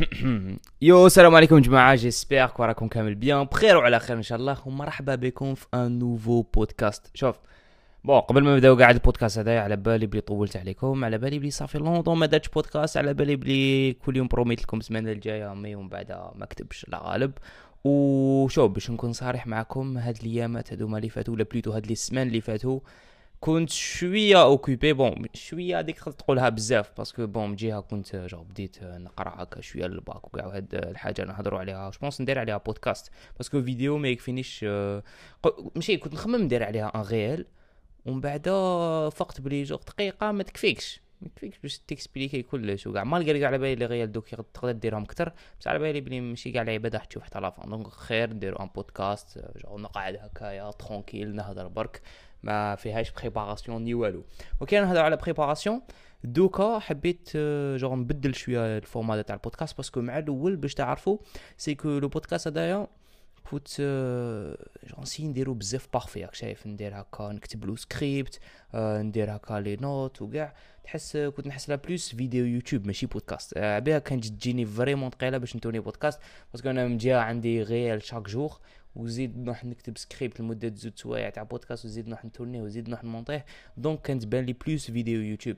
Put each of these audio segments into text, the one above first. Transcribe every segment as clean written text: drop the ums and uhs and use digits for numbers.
يو السلام عليكم جماعة، جيسبيغ راكم كامل بيان بخير وعلى خير ان شاء الله، ومرحبا بكم في ان نوفو بودكاست. شوف قبل ما نبداو قاعد البودكاست هذا، على بالي بلي طولت عليكم، على بالي بلي صافي لونطون ما دارتش بودكاست، على بالي بلي كل يوم بروميت لكم السمانه الجايه مي ومن بعد ما كتبش لا غالب. وشوف باش نكون صريح معكم، هاد الايامات هذوما اللي فاتوا ولا بليتو هاد لي سمان اللي فاتوا كنت شويه اوكوبي. شويه هذيك تقدر تقولها بزاف، باسكو من جهه كنت بديت نقرا هكا شويه للباك وكاع هاد الحاجه نهضروا عليها. جو بونس ندير عليها بودكاست، باسكو فيديو ما يكفينيش. ماشي كنت نخمم ندير عليها ان ريال، ومن بعد فقت بلي دقيقه ما تكفيكش باش تكسبليكي كلش وكاع. مالغري على بالي لي ريال دوك تقدر ديرهم اكثر، بس على بالي بلي ماشي كاع العباد راح تشوف حتى لافون. دونك خير نديرو ان بودكاست، نقعد هكايا ترونكيل نهضر برك، ما فيهاش بريباراسيون ني والو. وكي نهضر على بريباراسيون دوكا حبيت نبدل شويه الفورمات تاع البودكاست، باسكو مع الاول باش تعرفوا سي كو لو بودكاست هذايا كنت نسي نديرو بزاف بارفي، راك شايف، ندير هكا نكتب له سكريبت، ندير هكا لي نوت وكاع. كنت نحس لها بلوس فيديو يوتيوب ماشي بودكاست. بها كانت تجيني فريمون ثقيله باش نتوني بودكاست، باسكو انا من جهه عندي غيال شاك جور، وزيد نروح نكتب سكريبت لمده زوج سوايع تاع بودكاست، وزيد نروح نتورنيه، وزيد نروح نمونطيه. دونك كانت تبان لي بلوس فيديو يوتيوب.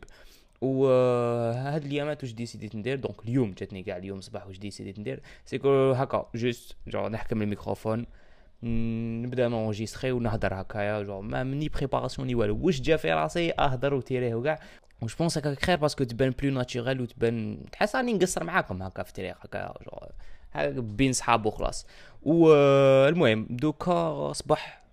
وهاد الايامات واش ديسيديت ندير، دونك اليوم جاتني كاع اليوم صباح واش ديسيديت ندير، سيكو هكا جوست نحكم الميكروفون، نبدا نونجيستري ونهضر هكايا، ما مني بريباراسيون ني والو، واش جا في راسي اهضر وتيريه وكاع. وش بونس هكا خير، باسكو تبان بلو ناتشورال، وتبان تحس راني نقصر معاكم هكا في التاريخ هكا هكا بين صحاب وخلاص. والمهم دوكا صباح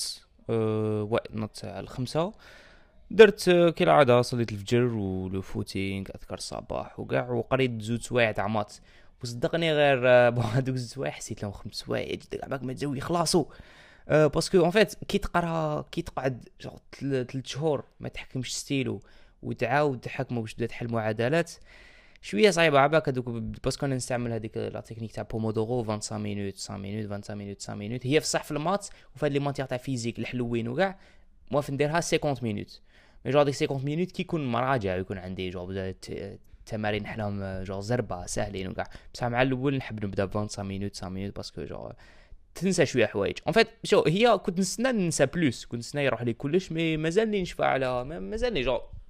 نط على الخمسة، درت كالعادة صليت الفجر ولو فوتينغ اذكر الصباح وكاع، وقريت زوج سوايع تاع مات. وصدقني غير هذوك زوج سوايع حسيت لهم 5 سوايع جد عباك ما تزوي يخلصوا. باسكو اون فيت كي تقعد 3 شهور ما تحكمش ستيلو، وتعاود تحكمه باش تبدا تحل معادلات، شويه صعيبه عباك هذوك. باسكو انا نستعمل هذيك لا تكنيك تاع بومودورو 25 مينوت 5 مينوت 25 مينوت 5 مينوت، هي في صح في المات وفي هاد لي ماتيغ تاع فيزيك الحلوين وكاع. موالف نديرها 50 مينوت، مي ديك 50 مينوت كي يكون مراجع، يكون عندي تمارين نحلهم زربه ساهلين وكاع. بصح مع الاول نحب نبدا ب 25 مينوت 5 مينوت، باسكو تنسى شويه حوايج. اون فيت هي كنت ننسى بلوس، كنت نستنى يروح لي كلش، مي مازالني نشفى على مازالني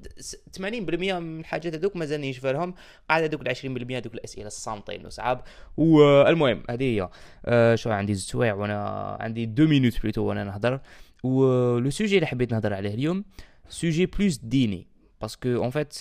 80% من الحاجات هذوك مازالني نشفى لهم. قاعد هذوك 20% هذوك الاسئله الصامتين وصعاب. والمهم هذه هي. عندي زوج سوايع وانا عندي 2 مينوت بلوتو وانا نهضر. ولو سوجي اللي حبيت نهضر عليه اليوم سوجي بلوس ديني، باسكو اون فيت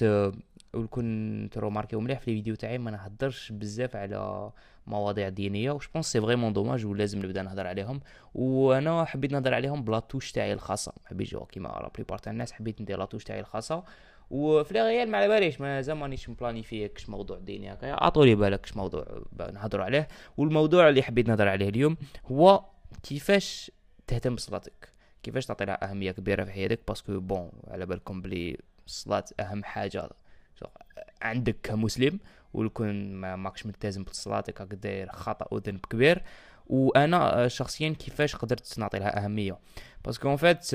كنت روماركيو مليح في الفيديو تاعي ما نهضرش بزاف على مواضيع دينيه، وش بونس سي فريمون دوماج، ولازم نبدا نهضر عليهم. وانا حبيت نهضر عليهم بلا توش تاعي الخاصه، ما حبيتش كيما لا بريبار تاع الناس، حبيت ندير لا توش تاعي الخاصه. وفي ريال ما على باليش، مازال مانيش مبلانيفي كش موضوع ديني هكايا، عطولي بالك كش موضوع نهضروا عليه. والموضوع اللي حبيت نهضر عليه اليوم هو كيفاش تهتم بصلاتك، كيفاش تعطي لها اهميه كبيره في حياتك. باسكو على بالكم بلي الصلاه اهم حاجه عندك كمسلم، ولكن ما ماكش ملتزم بصلاتك راك داير خطا وذنب كبير. وانا شخصيا كيفاش قدرت نعطي لها اهميه، باسكو اون فات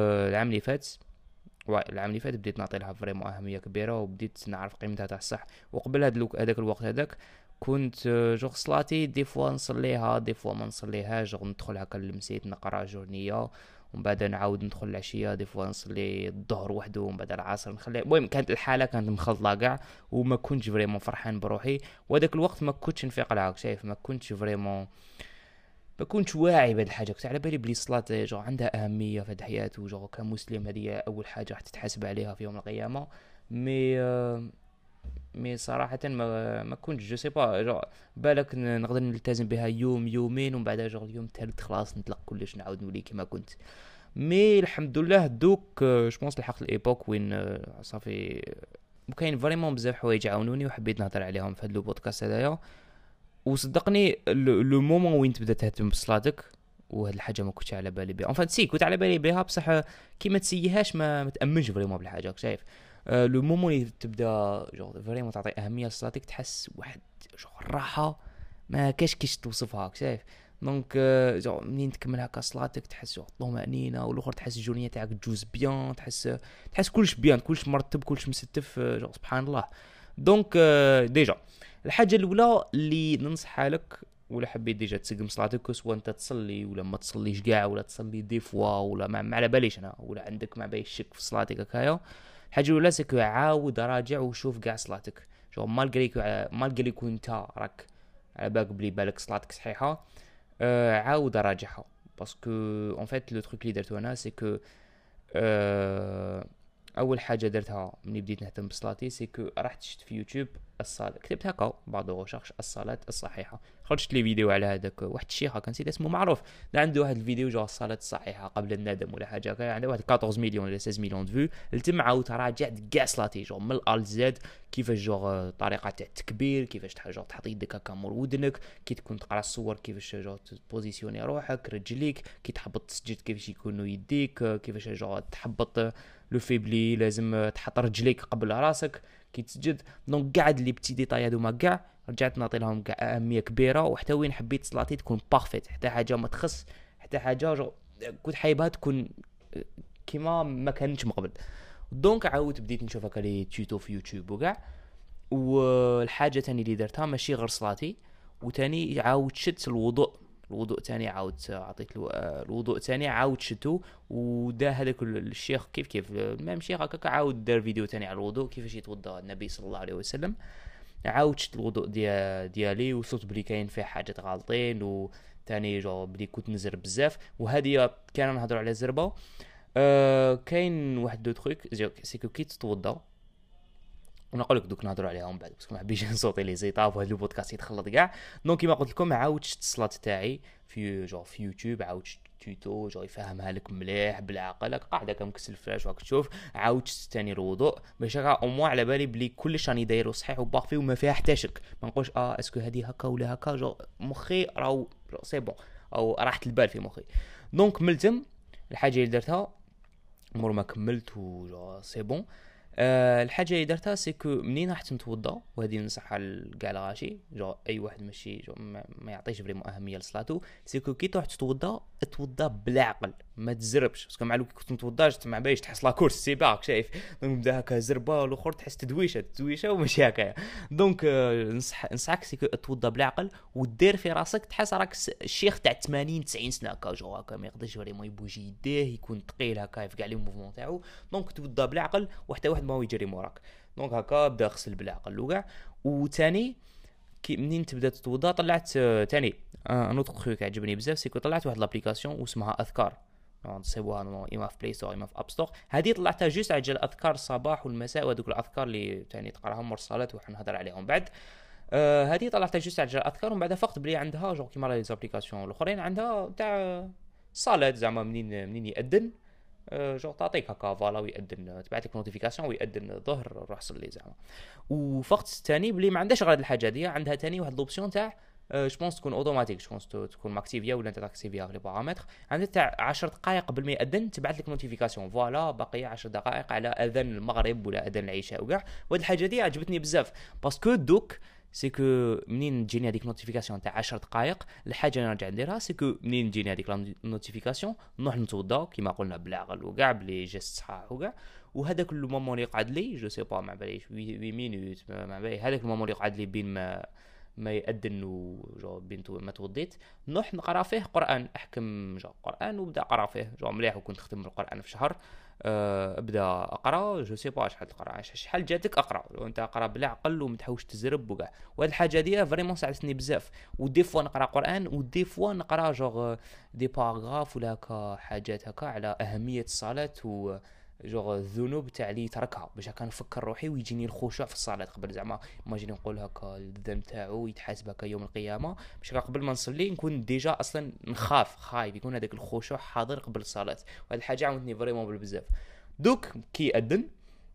العام اللي فات بديت نعطي لها فريمون اهميه كبيره، وبديت نعرف قيمتها تاع الصح. وقبل هذاك الوقت هذاك كنت صلاتي دي فوا نصليها دي فوا ما نصليهاش، ندخل هكا للمسيت نقرا جورنيه، ومن بعد نعاود ندخل العشيه دي فوا نصلي الظهر وحده، ومن بعد العصر نخلي. المهم كانت الحاله كانت مخلطه كاع، وما كنتش فريمون فرحان بروحي. وهذاك الوقت ما كنتش نفيق لها، شايف، ما كنتش فريمون، ما كنتش واعي بهاد الحاجه. كنت على بالي بلي الصلاه عندها اهميه في الحياه، كمسلم هذه اول حاجه راح تتحاسب عليها في يوم القيامه. مي مي صراحه ما كنتش جو سي با بالك نقدر نلتزم بها يوم يومين، ومن بعد اليوم الثالث خلاص نطلق كلش، نعاود نولي كما كنت. مي الحمد لله دوك جوبونس لحقت الايبوك وين صافي وكاين فريمون بزاف حوايج عاونوني، وحبيت نهضر عليهم في هذا البودكاست هذايا. وصدقني لو مومون وين تبدا تهتم بصلاتك، وهاد الحاجه ما كنتش على بالي بها. اون كنت على بالي بها، بصح كي ما تسيهاش ما تامنش فريمون بالحاجه، شايف. لو مومون اللي تبدا فريمون تعطي اهميه لصلاتك، تحس واحد الراحه ما كاش توصفها، شايف. دونك منين تكمل هكا صلاتك تحس طمانينه، والاخر تحس الجورنيه تاعك تجوز بيان، تحس كلش بيان، كلش مرتب، كلش مستف، سبحان الله. دونك ديجا الحاجه الاولى اللي ننصحها لك، ولا حبيت ديجا تسقم صلاتك، سواء انت تصلي ولا ما تصليش كاع، ولا تصلي دي فوا ولا ما على باليش انا، ولا عندك ما بايش شك في صلاتك هكايا. الحاجه الاولى سكو عاود راجع وشوف كاع صلاتك، جو مالغري كون انت راك على بالك بلي بالك صلاتك صحيحه، عاود راجعها. باسكو اون فيت لو تروك اللي درتو انا سي كو اول حاجه درتها ملي بديت نهتم بصلاتي سي كو رحت شفت في يوتيوب الصلاه، كتبت هكا بعض غوشاخش الصلاه الصحيحه، خرجت لي فيديو على هذاك واحد الشيخ كان نسيت اسمه معروف، عنده واحد الفيديو جو الصلاه الصحيحه قبل الندم ولا حاجه هكا، عنده واحد 14 مليون ولا 16 مليون دو فيو. تم عاود راجعت كاع صلاتي جو من الال زد، كيفاش جو طريقه تاع التكبير، كيفاش تحط يدك هكا مور ودنك، كي تكون تقرا الصور كيفاش جو تبوزيسيوني روحك رجليك، كي تحبط تسجد كيفاش يكونوا يديك، كيفاش جو تحبط لو فيبلي لازم تحط رجليك قبل راسك كي تسجد. دونك قاعد اللي بتي ديتاي هذوما كاع رجعت نعطي لهم كاع اهميه كبيره، وحتى وين حبيت صلاتي تكون بارفيت، حتى حاجه ما تخص، حتى حاجه كنت حايبها تكون كيما ما كانتش من قبل. دونك عاودت بديت نشوف هكا لي تويتو في يوتيوب وكاع. والحاجه تاني اللي درتها ماشي غير صلاتي، وتاني عاود شدت الوضوء تاني، عاود عطيت له الوضوء تاني عاود شتو، ودا هذاك الشيخ كيف المهم شيخ هكاك عاود دار فيديو تاني على الوضوء كيفاش يتوضا النبي صلى الله عليه وسلم. عاود شت الوضوء ديالي وصوت بلي كاين فيه حاجات غالطين، وتاني جو بلي كنت نزرب بزاف، وهذه كان نهضروا على زربه. كاين واحد دو تروك سيكو كي تتوضا، ونقول لك دوك نهضروا عليها من بعد باسكو ما حبيتش نصوتي لي زيطاب وهذا البودكاست يتخلط كاع. دونك كيما قلت لكم عاود شت الصلاه تاعي في يوتيوب، عاود شت تويتو جو يفهمها لك مليح بالعقل، قاعده كمكسل الفلاش راك تشوف، عاود شت ثاني الوضوء باش هكا او موا على بالي بلي كلش راني دايرو صحيح وباغفي وما فيها حتى شك، ما نقولش اسكو هذه هكا ولا هكا، جو مخي راهو سي بون او راحه البال في مخي. دونك ملتم الحاجه اللي درتها مور ما كملت و سي بون. الحاجه اللي درتها سيكو منين راح نتوضا، وهذه نصحها لكاع الغاشي جو اي واحد ماشي جو ما يعطيش فريمون اهميه لصلاتو، سيكو كي تروح توضا بالعقل ما تزربش، باسكو مع لو كنت متوضاش ما بايش تحس لا كورس سيباك شايف، دونك بدا هكا زربه والاخر تحس تدويشه وماشي هكايا. دونك نصحك سيكو توضا بالعقل ودير في راسك تحس راك الشيخ تاع 80 90 سنه هكا، جو هكا ما يقدرش فريمون يبوجي يديه، يكون ثقيل هكا في كاع لي موفمون تاعو. دونك توضا بالعقل وحتى واحد ما هو يجري موراك. دونك هكا بدا غسل بالعقل وكاع. وثاني كي منين تبدا تتوضا طلعت ثاني ان اوتر تروك عجبني بزاف، سيكو طلعت واحد لابليكاسيون واسمها اذكار، تصيبوها اما في بلاي ستور اما في اب ستور. هذه طلعتها جوست على اذكار الصباح والمساء، وهذوك الاذكار اللي ثاني تقراهم مور الصلاه وحنهضر عليهم بعد. هذه طلعتها جوست على الاذكار، ومن بعد فقط بلي عندها جو كيما لي زابليكاسيون الاخرين عندها تاع الصلاه زعما منين يأذن جو تعطيك هكا فوالا ويأذن، تبعت لك نوتيفيكاسيون ويأذن الظهر روح صلي زعما. وفقط ثاني بلي ما عندهاش غير الحاجه دي، عندها ثاني واحد لوبسيون تاع جو بونس تكون اوتوماتيك، جو بونس تكون ماكتيفيا ولا انت تاكتيفيا لي بارامتر، عندها تاع 10 دقائق قبل ما يأذن تبعت لك نوتيفيكاسيون فوالا باقي 10 دقائق على اذان المغرب ولا اذان العشاء وكاع. وهاد الحاجه دي عجبتني بزاف باسكو دوك سيكو منين تجيني هذيك نوتيفيكاسيون تاع 10 دقائق، الحاجه اللي نرجع نديرها سيكو منين تجيني هذيك نوتيفيكاسيون نروح نتوضا كيما قلنا بالعقل وكاع بلي جيست صحاح وكاع. وهذاك المومون اللي قعد لي جو سي با ما باليش 8 مينوت ما بالي، هذاك المومون اللي قعد لي بين ما يأذن وجو بنتو ما توضيت نروح نقرا فيه قران، احكم جو قران وبدا اقرا فيه جو مليح، وكنت ختم القران في شهر. ابدا اقرا جو سي با شحال تقرا شحال جاتك اقرا، وانت اقرا بالعقل ومتحوش تزرب وكاع. وهاد الحاجه دي فريمون ساعدتني بزاف. ودي فوا نقرا قران ودي فوا نقرا جو دي باراغراف ولا هكا حاجات هكا على اهميه الصلاه و جو الذنوب تاع اللي تركها، باش هكا نفكر روحي ويجيني الخشوع في الصلاه قبل زعما ماجيني نقول هكا الذنب تاعو يتحاسب هكا يوم القيامه، باش قبل ما نصلي نكون ديجا اصلا خايف يكون هذاك الخشوع حاضر قبل الصلاه. وهاد الحاجه عاونتني فريمون بزاف. دوك كي اذن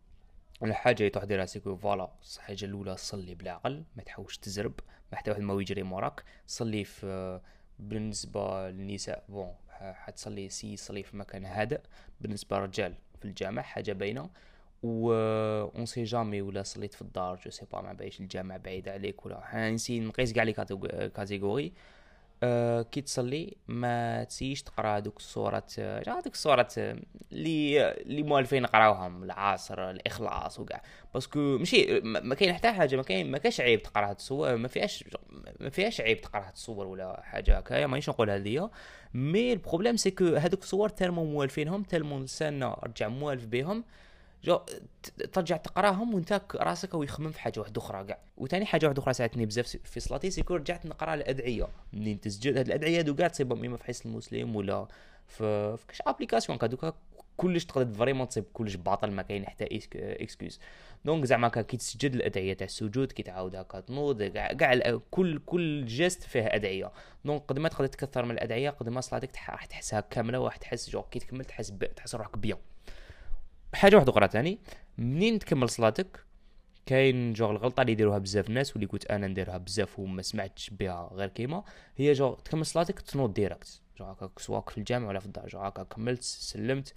الحاجه اللي تروح ديرها سيكو فوالا الحاجه الاولى صلي بالعقل ما تحوش تزرب، ما حتى واحد ما يجري موراك، صلي في بالنسبه للنساء بون حتصلي صلي في مكان هادئ، بالنسبه للرجال في الجامع حاجه باينه، و اون سي جامي ولا صليت في الدار جو سي با ما بايش الجامع بعيد عليك ولا نسي نقيس كاع لي كاتيجوري. كي تصلي ما تسيش تقرا هذوك الصورات، هذوك الصورات اللي موالفين نقراوهم، العصر، الاخلاص وكاع. باسكو ماشي ما كاين حتى حاجه، ما كاش عيب تقرا هاد الصور، ما فيهاش عيب تقرا هاد الصور ولا حاجه هكايا، مانيش نقول هذه. مي البروبليم سي كو هذوك الصور تالمون موالفينهم، تالمون لساننا رجع موالف بهم، جو ترجع تقراهم وانت راسك او يخمم في حاجه واحده اخرى كاع. وثاني حاجه واحده اخرى ساعدتني بزاف في صلاتي، سيكو رجعت نقرا الادعيه منين تسجل. هاد الادعيه هادو كاع تصيبهم اما في حصن المسلم ولا في كاش ابليكاسيون كادوكا، كلش تقدر فريمون تصيب كلش باطل، ما كاين حتى اكسكيوز. دونك زعما كي تسجد الادعيه تاع السجود، كي تعاود هكا تنوض كاع كل جيست فيه ادعيه. دونك قد ما تقدر تكثر من الادعيه قد ما صلاتك راح تحسها كامله، وراح تحس جو كي تكمل تحس روحك بيان. حاجه واحده اخرى تاني، منين تكمل صلاتك كاين جو الغلطه اللي يديروها بزاف الناس واللي كنت انا نديرها بزاف وما سمعتش بها غير كيما هي، جو تكمل صلاتك تنوض ديريكت، جو هكاك سواك في الجامع ولا في الدار، جو هكاك كملت سلمت،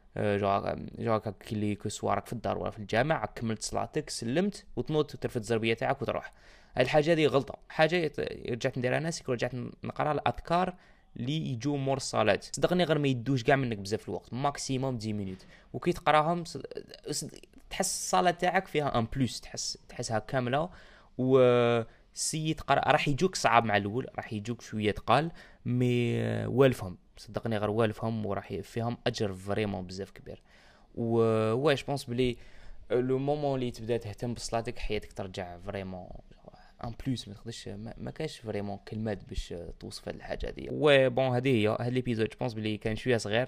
جو هكاك كي سوارك في الدار ولا في الجامع كملت صلاتك سلمت وتنوض وترفد الزربيه تاعك وتروح. هاد الحاجه هذه غلطه. حاجه رجعت نديرها ناس رجعت نقرا الاذكار اللي يجوا مور الصلاه، صدقني غير ما يدوش كاع منك بزاف الوقت، ماكسيموم 10 مينوت، وكي تقراهم تحس الصلاه تاعك فيها ان بلوس، تحسها كامله. و سي تقرا راح يجوك صعاب مع الاول، راح يجوك شويه تقال، مي والفهم صدقني غير والفهم، وراح فيهم اجر فريمون بزاف كبير. واش بونس بلي لو مومون اللي تبدا تهتم بصلاتك حياتك ترجع فريمون ان بلوس. ما تقدرش ما كاش فريمون كلمات باش توصف هذه الحاجه هذه. و بون هذه هي هاد ليبيزود جو بونس بلي كان شويه صغير.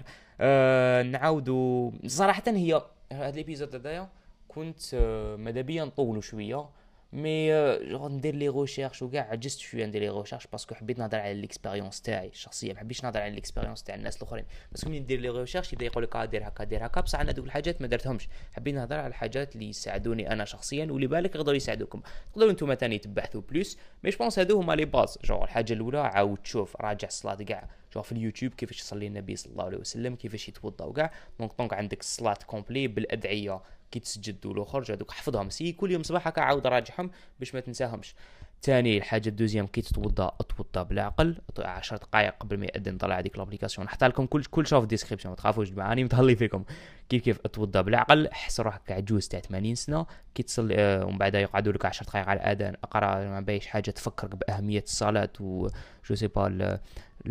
نعاودوا صراحه هي هاد ليبيزود هذايا كنت ماذا بيا نطولوا شويه، مي ندير لي ريشيرش وكاع عجزت شويه ندير لي ريشيرش باسكو حبيت نهضر على ليكسبيريونس تاعي الشخصيه، ما حبيتش نهضر على ليكسبيريونس تاع الناس الاخرين. باسكو ملي ندير لي ريشيرش يبدا يقول لك دير هكا دير هكا، بصح انا دوك الحاجات ما درتهمش. حبيت نهضر على الحاجات اللي يساعدوني انا شخصيا واللي بالك يقدروا يساعدوكم. تقدروا نتوما ثاني تبحثوا بلوس، مي جوبونس هادو هما لي باز. جو الحاجه الاولى عاود تشوف راجع الصلاه كاع، جو في اليوتيوب كيفاش يصلي النبي صلى الله عليه وسلم، كيفاش يتوضا وكاع. دونك عندك الصلاه كومبلي بالادعيه كي تسجد والاخر هذوك حفظهم، سي كل يوم صباح هكا عاود راجعهم باش ما تنساهمش. ثاني الحاجه الدوزيام كي تتوضا بالعقل، 10 دقائق قبل ما يأذن طلع هذيك لابليكاسيون، نحط لكم كل شيء في الديسكريبشن، ما تخافوش معاني متهلي فيكم. كيف تتوضا بالعقل، حس روحك عجوز تاع 80 سنه كي تصلي، ومن بعد يقعدوا لك 10 دقائق على الاذان، اقرا ما بايش حاجه تفكرك باهميه الصلاه و جو سي با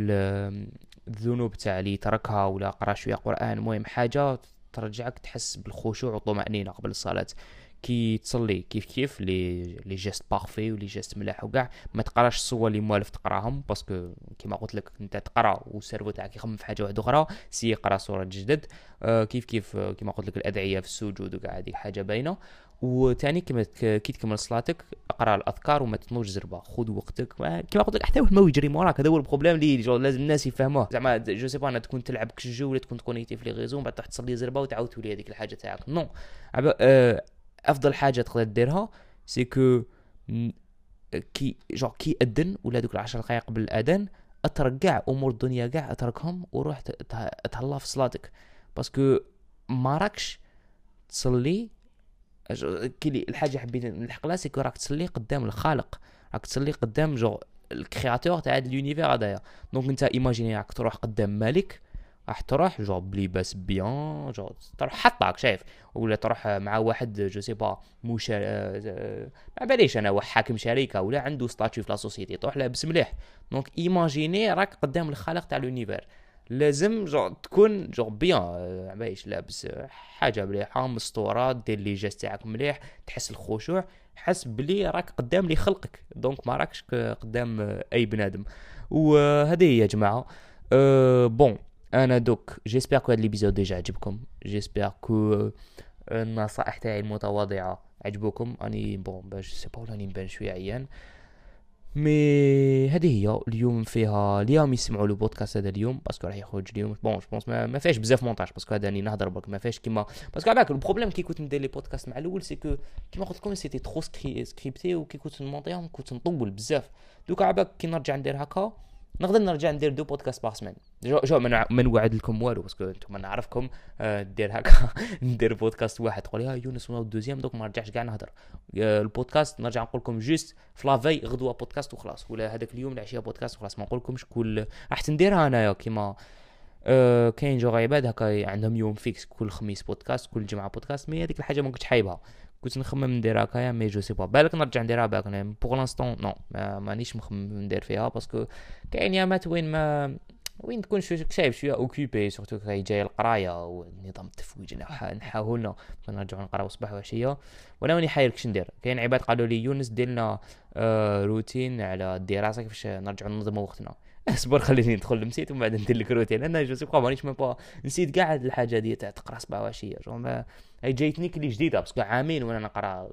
الذنوب تاع اللي تركها، ولا قرا شويه قران. المهم حاجه ترجعك تحس بالخشوع والطمأنينة قبل الصلاة. كي تصلي كيف لي جيست بارفي ولي جيست ملاح وكاع، ما تقراش الصور اللي موالف تقراهم، باسكو كيما قلت لك انت تقرا والسيرفو تاعك يخمم في حاجه واحده اخرى. سي قرا صوره جدد، كيف كيما قلت لك الادعيه في السجود وكاع، هذه حاجه باينه. وثاني كي تكمل صلاتك اقرا الاذكار وما تنوش زربه، خذ وقتك. كيما قلت لك حتى واحد ما يجري موراك، هذا هو البروبليم اللي لازم الناس يفهموه. زعما جو سي با انا تكون تلعب كجو ولا تكون كونيكتي في لي ريزو، بعد تروح تصلي زربه وتعاود تولي هذيك الحاجه تاعك. نو افضل حاجه تقدر ديرها سي كو كي اذن ولا دوك 10 دقائق قبل الاذان اترك كاع امور الدنيا كاع، اتركهم وروح تهلا في صلاتك. باسكو ما راكش تصلي كي الحاجه حبيت نلحق لها سي كو راك تصلي قدام الخالق، راك تصلي قدام الكرياتور تاع هذا اليونيفير هذايا. دونك انت ايماجيني راك تروح قدام مالك، راح تروح بلباس بيان، تروح حطاك شايف، ولا تروح مع واحد جو سي با ما باليش انا واحد حاكم شركه ولا عنده ستاتيو في لا سوسيتي، تروح لابس مليح. دونك ايماجيني راك قدام الخالق تاع اليونيفير، لازم تكون بيان بايش لابس حاجه مليحه مستوره، دير لي جيست تاعك مليح، تحس الخشوع، حس بلي راك قدام لي خلقك، دونك ما راكش قدام اي بنادم. وهذه هي يا جماعه. بون انا دوك جيسبر كو هاد ليبيزود ديجا عجبكم، جيسبر كو النصائح تاعي المتواضعه عجبوكم. اني بون باش سي با راني نبان شويه عيان، مي هذه هي اليوم فيها اليوم يسمعوا لو بودكاست هذا اليوم باسكو راح يخرج اليوم. بون جوبونس ما فيهاش بزاف مونتاج باسكو هذا راني نهضر برك، ما فيهاش كيما باسكو عباك البروبليم كي كنت ندير لي بودكاست مع الاول سي كو كيما قلت لكم سيتي ترو سكريبتي، وكي كنت نمونطيهم كنت نطول بزاف. دوكا عباك كي نرجع ندير هكا نقدر نرجع ندير 2 بودكاست باغ سمان. جو ما نوعد لكم والو باسكو انتم نعرفكم. دير هكا ندير بودكاست واحد تقول يا يونس ولا الدوزيام دوك ما نرجعش كاع نهضر. البودكاست نرجع نقول لكم جوست في لافي غدوه بودكاست وخلاص، ولا هذاك اليوم العشيه بودكاست وخلاص. ما نقول لكمش كل راح نديرها انايا كيما كاين جو عباد هكا عندهم يوم فيكس كل خميس بودكاست كل جمعه بودكاست. مي هذيك الحاجه ما كنتش حايبها، كنت نخمم ندير هكايا مي جو سي با. بالك نرجع نديرها بالك بوغ لانستون نو مانيش مخمم ندير فيها باسكو كاين يامات وين تكون شايف شويه اوكيبي سورتو كاي جاي القرايه والنظام التفويج نحاولنا نرجعوا نقراو صباح وعشيه. وانا ماني حاير كش ندير. كاين عباد قالوا لي يونس ديرنا روتين على الدراسه كيفاش نرجعوا ننظموا وقتنا. اصبر خليني ندخل لمسيت ومن بعد ندير لك روتين. انا جو سي با مانيش نسيت كاع هاد الحاجه دي تاع تقرا صباح وعشيه. هاي جايتني كلي جديده باسكو عامين وانا نقرا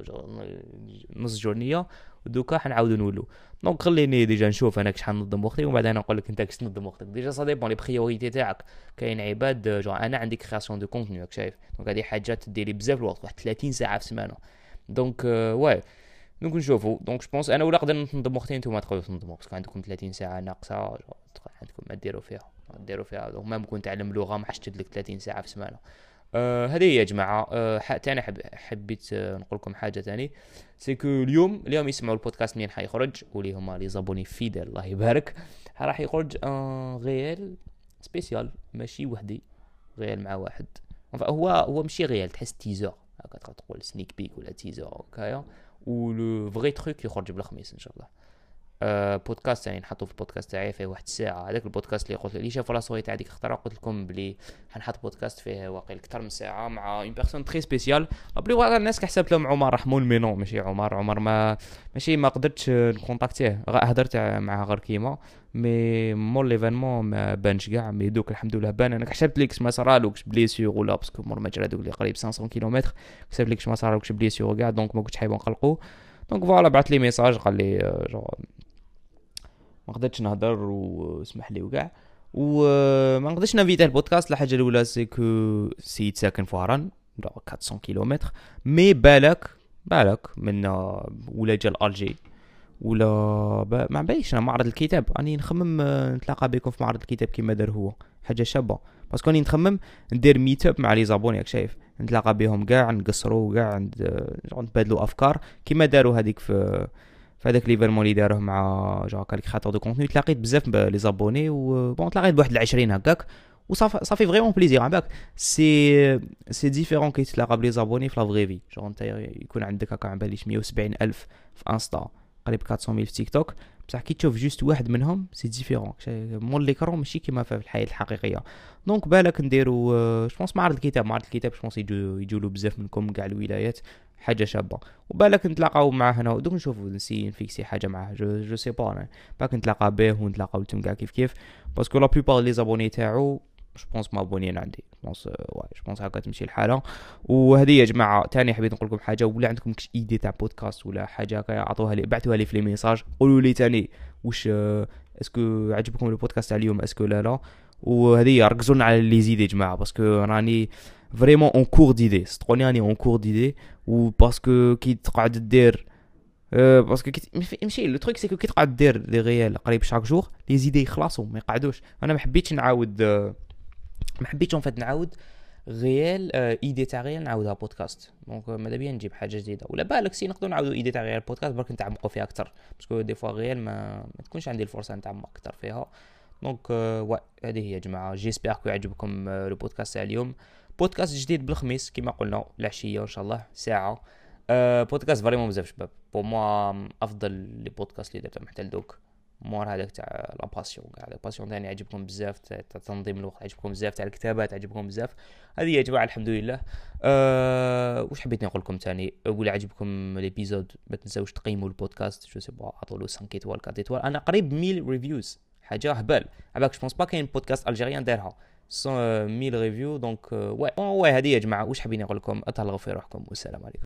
نص جورنيه ودوكا حنعاودو نولو. دونك خليني ديجا نشوف انا كش حنظم وقتي ومن بعد انا نقول لك انت كش تنظم وقتك. ديجا سا ديبون لي بريوريتي تاعك. كاين عباد انا عندي كرياسيون دو كونتوني راك شايف. دونك هذه حاجات تديري بزاف الوقت واحد 30 ساعه في السمانه. دونك واي دونك نشوفوا. دونك جو بونس انا ولا نقدر ننظم وقتي نتوما تقدروا تنظموا باسكو عندكم 30 ساعه ناقصه عندكم ما ديروا فيها. دونك ما ممكن تعلم لغه ما حشتد لك 30 ساعه في السمانه. هذه هي يا جماعه. تاني حبيت نقول لكم حاجه تاني سيكو اليوم يسمعوا البودكاست منين حيخرج واللي هما لي زابوني فيدل الله يبارك. راح يخرج غيال سبيسيال ماشي وحدي غيال مع واحد. هو ماشي غيال تحس تيزر هكا تقول سنيك بيك ولا تيزر هكايا. ولو فغي تروك يخرج بالخميس ان شاء الله. بودكاست يعني نحطو في البودكاست تاعي فيه واحد الساعه. هذاك البودكاست اللي قلت لي شافوا لا صوري تاع ديك الخطره قلت لكم بلي حنحط بودكاست فيه واقيلا اكثر من ساعه مع اون بيرسون تري سبيسيال. بلي واقع الناس كحسبت لهم عمر رحمون مي نو ماشي عمر ما قدرتش نكونتاكتيه. هضرت معاه غير كيما مي مور ليفينمون ما بانش كاع. مي دوك الحمد لله بان. انا كحسبت لك ما صرالوكش بليسيور ولا باسكو مور ما جرى دوك اللي قريب 500 كيلومتر كحسبت لك ما صرالوكش بليسيور كاع. دونك ما كنتش حايب نقلقو. دونك فوالا بعث لي ميساج قال لي ما قدرتش نهضر واسمح لي وكاع. وما نقدرش نفيتاه البودكاست. الحاجه الاولى سيكو سيد ساكن في هران 400 كيلومتر. مي بالك من ولا جا الالجي ولا ما باليش. انا معرض الكتاب راني نخمم نتلاقى بكم في معرض الكتاب كيما دار هو حاجه شابه باسكو راني نخمم ندير ميت اب مع لي زابوني راك شايف. نتلاقى بهم كاع نقصروا كاع نتبادلوا افكار كيما داروا هذيك في هذاك ليفيرمون اللي داروه مع هكا كرياتور دو كونتوني. تلاقيت بزاف لي زابوني و تلاقيت بواحد 20 هكاك وصافي فريمون بليزير. عباك سي ديفيرون كي تلاقى بلي زابوني في لا فري في. انت يكون عندك هكا على باليش 170 الف في انستا قريب 400 ميل في تيك توك بصح كي تشوف جوست واحد منهم سي ديفيرون مول ليكرون ماشي كيما في الحياه الحقيقيه. دونك بالك نديرو جو بونس معرض الكتاب جو بونس يجولو بزاف منكم كاع الولايات حاجه شابه. وبالك نتلاقاو معاه هنا دوك نشوفوا نفيكسي حاجه معاه جو سي با بالك نتلاقى به ونتلاقاو نتوما كاع كيف باسكو لا بلوبار لي زابوني تاعو جو بونس ما ابونيين عندي جو بونس هكا تمشي الحاله. وهذه يا جماعه ثاني حبيت نقول لكم حاجه ولا عندكم كش ايدي تاع بودكاست ولا حاجه هكا عطوها لي بعثوها لي في لي ميساج قولوا لي ثاني واش اسكو عجبكم البودكاست تاع اليوم اسكو لا. وهذه ركزوا على لي زيد يا جماعه باسكو راني فريمون اون كور ديدي صدقوني راني اون كور ديدي. وباسكو كي تقعد دير باسكو ماشي لو تروك سيكو كي تقعد دير لي ريال قريب شاك جور لي زيدي يخلصوا ما يقعدوش. انا ما حبيتش نعاود نعاود غيال ايدي تاع غيال نعاودها بودكاست. دونك ماذا بيا نجيب حاجه جديده ولا بالك سي نقدروا نعاودوا ايدي تاع غيال بودكاست برك نتعمقوا فيها اكثر باسكو دي فوا غيال ما تكونش عندي الفرصه نتعمق اكثر فيها. دونك هذه هي يا جماعه. جيسبر كو يعجبكم لو بودكاست تاع اليوم. بودكاست جديد بالخميس كما قلنا العشيه ان شاء الله ساعه. بودكاست فريمون بزاف شباب بو موا افضل لي بودكاست اللي درتهم حتى لدوك. مور هذاك تاع لا باسيون كاع لا باسيون ثاني عجبكم بزاف تاع تنظيم الوقت عجبكم بزاف تاع الكتابات عجبكم بزاف. هذه يا جماعه الحمد لله. واش حبيت نقول لكم ثاني ولا عجبكم ليبيزود ما تنساوش تقيموا البودكاست جو سي با عطوا له 5 ايطوال 4 ايطوال. انا قريب 1000 ريفيوز حاجه هبال عباك جو بونس با كاين بودكاست الجيريان دارها 1000 ريفيو. دونك واي هذه يا جماعه واش حابين نقول لكم اتهلاو في روحكم والسلام عليكم.